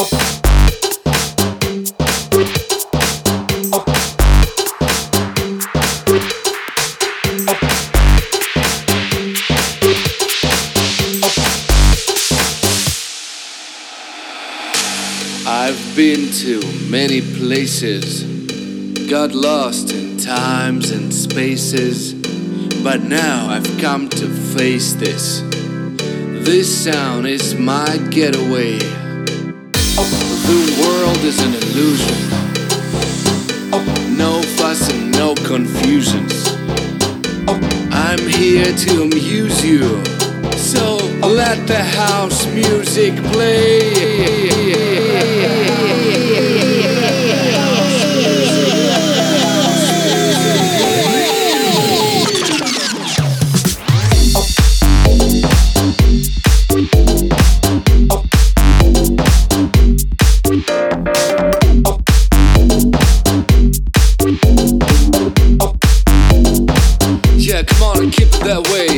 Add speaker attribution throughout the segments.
Speaker 1: I've been to many places, got lost in times and spaces, but now I've come to face this. This sound is my getaway. The world is an illusion. No fuss and no confusions. I'm here to amuse you, so let the house music play. Yeah, come on and keep it that way.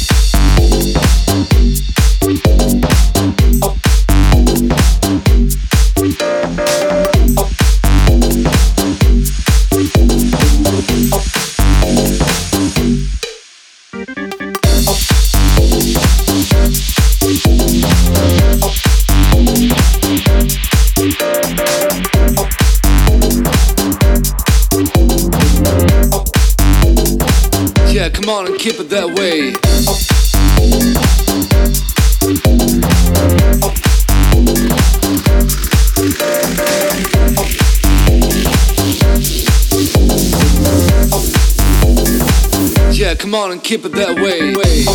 Speaker 1: Yeah, come on and keep it that way. Yeah, come on and keep it that way.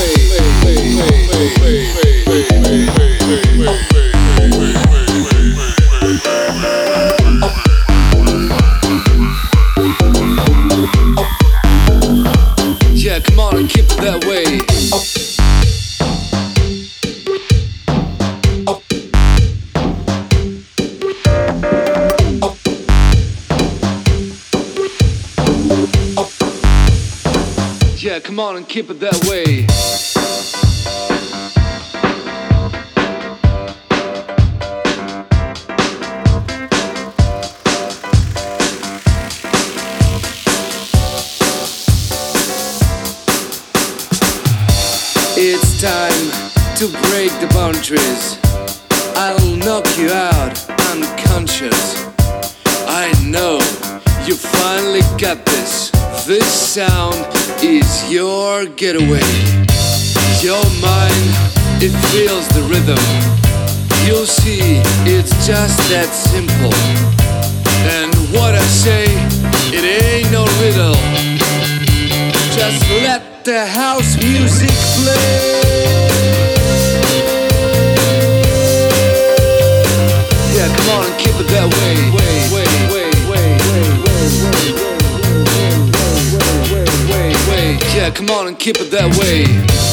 Speaker 1: Yeah, come on and keep it that way. Yeah, come on and keep it that way. It's time to break the boundaries. I'll knock you out unconscious. I know you finally got this. This sound is your getaway. Your mind, it feels the rhythm. You'll see, it's just that simple. And what I say, it ain't no riddle. Just let the house music play. Yeah, come on and keep it that way. Yeah, come on and keep it that way.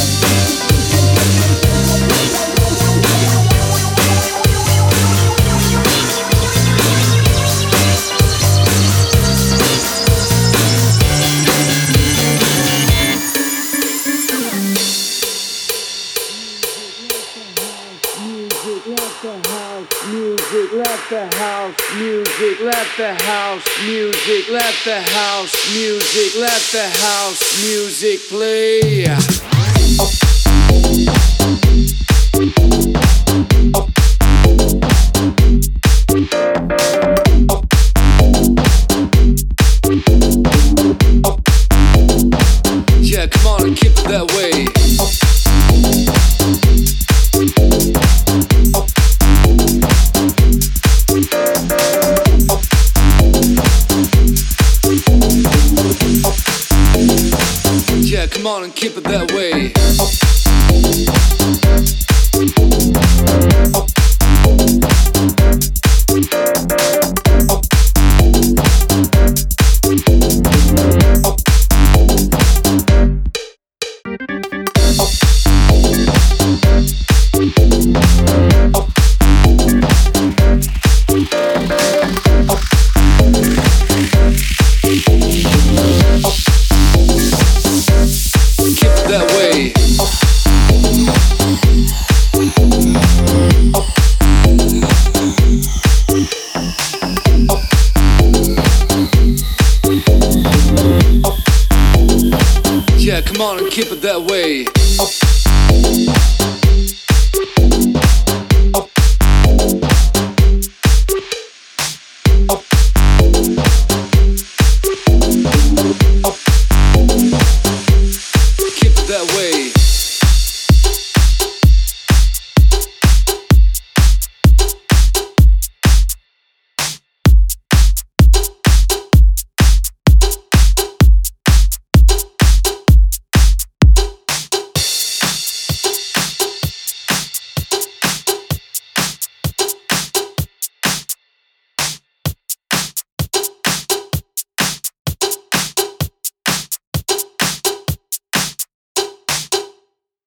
Speaker 1: Let the house music, let the house music, let the house music, let the house music play.